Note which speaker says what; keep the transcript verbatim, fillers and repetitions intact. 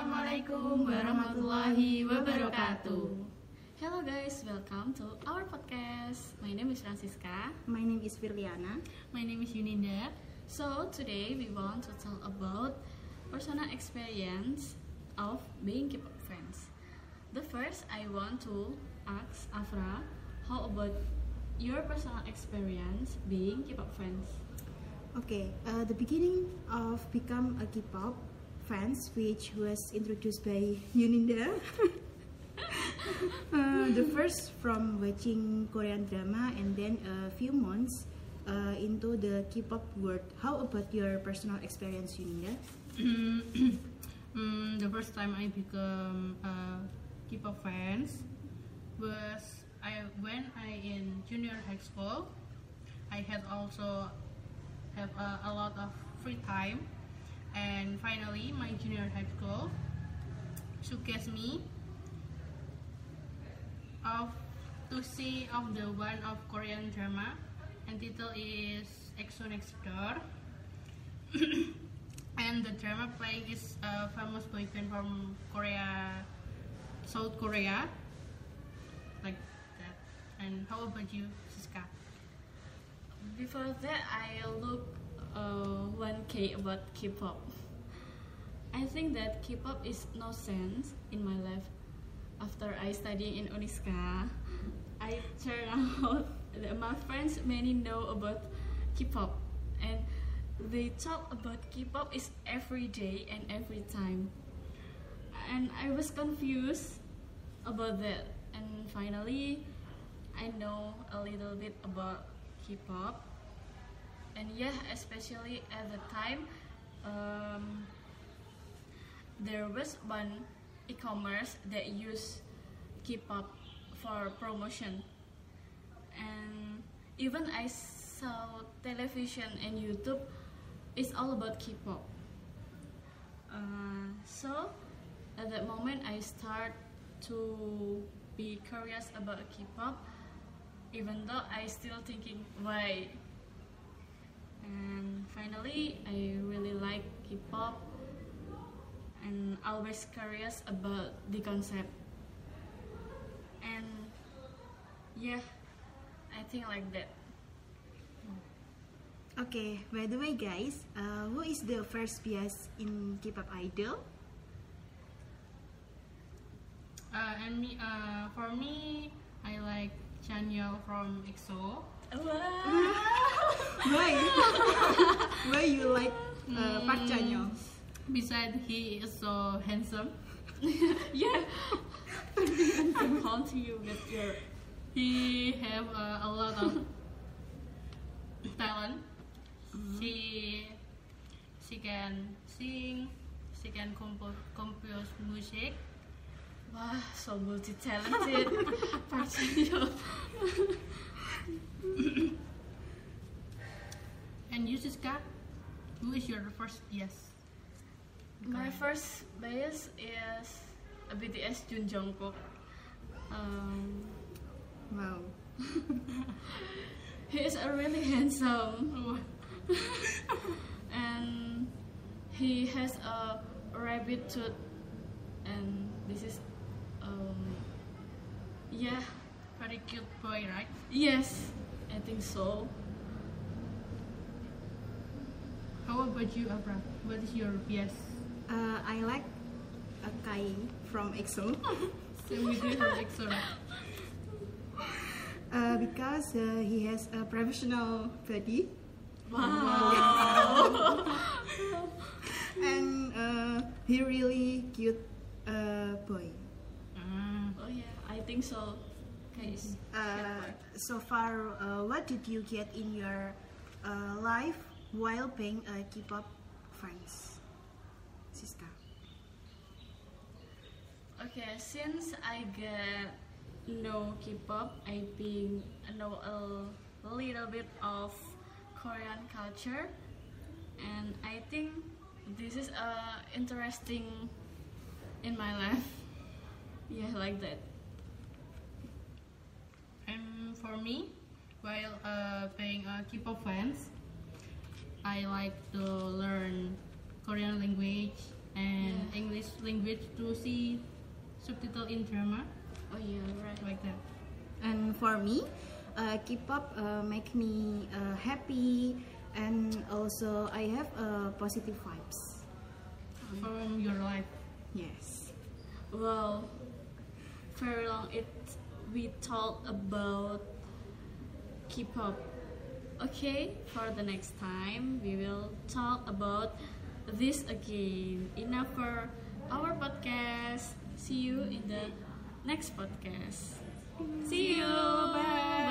Speaker 1: Assalamualaikum warahmatullahi wabarakatuh.
Speaker 2: Hello guys, welcome to our podcast. My name is Francisca.
Speaker 1: My name is Firliana.
Speaker 3: My name is Yuninda.
Speaker 2: So today we want to talk about personal experience of being K-pop fans. The first I want to ask Afra, how about your personal experience being K-pop fans?
Speaker 1: Okay, uh, the beginning of become a K-pop fans, which was introduced by Yuninda. uh, the first from watching Korean drama and then a few months uh, into the K-pop world. How about your personal experience, Yuninda?
Speaker 3: um, the first time I become a K-pop fans was I when I in junior high school. I had also have a, a lot of free time, and finally my junior high school showcased me of to see of the one of Korean drama, and title is EXO Next Door. And the drama playing is a famous boy band from Korea, South Korea, like that. And how about you, Siska?
Speaker 2: Before that, I look uh, one K about K-pop. I think that K-pop is no sense in my life. After I study in Uniska, I turn out that my friends many know about K-pop, and they talk about K-pop is every day and every time. And I was confused about that. And finally, I know a little bit about K-pop. And yeah, especially at the time, um, there was one e-commerce that used K-pop for promotion, and even I saw television and YouTube is all about K-pop. Uh, so at that moment I start to be curious about K-pop, even though I still thinking why. And finally I really like K-pop and always curious about the concept. And yeah, I think like that.
Speaker 1: Okay, by the way guys, uh, who is the first bias in K-pop idol?
Speaker 3: Uh, and me, uh, for me, I like Chanyeol from EXO.
Speaker 1: Why? Why you like uh, Park Chanyeol?
Speaker 3: Besides, he is so handsome.
Speaker 2: Yeah, I'm on to you with your.
Speaker 3: He have uh, a lot of talent.
Speaker 1: Mm-hmm.
Speaker 3: She she can sing. She can compose compose music.
Speaker 2: Wah, so multi-talented. Park Chan-yeol.
Speaker 3: And you, Siska, who is your first yes?
Speaker 2: My first bias is a B T S Jun Jungkook. Um,
Speaker 1: Wow.
Speaker 2: he is a really handsome, and he has a rabbit tooth, and this is, um, yeah,
Speaker 3: Very cute boy, right?
Speaker 2: yes, I think so.
Speaker 3: How about you, Abra? What is your yes?
Speaker 1: Uh, I like a Kai from EXO.
Speaker 3: Same with you from EXO, right?
Speaker 1: Uh, because uh, he has a professional body.
Speaker 2: Wow.
Speaker 1: And uh, he really cute uh, boy.
Speaker 3: Ah.
Speaker 2: Oh yeah, I think so, guys.
Speaker 1: Uh, so far, uh, what did you get in your uh, life while being a K-pop fans, Siska?
Speaker 2: Okay, since I get know K-pop, I been know a little bit of Korean culture, and I think this is uh, interesting in my life. Yeah, like that.
Speaker 3: And for me, while uh, being a K-pop fans, I like to learn Korean language and English language to see subtitle in drama,
Speaker 2: Oh yeah, right.
Speaker 3: like that.
Speaker 1: And for me, uh, K-pop uh, make me uh, happy, and also I have uh, positive vibes.
Speaker 3: From your life.
Speaker 1: Yes.
Speaker 2: Well, very long it we talked about K-pop. Okay, for the next time we will talk about this again. Enough for our podcast. See you in the next podcast. See you.
Speaker 1: Bye.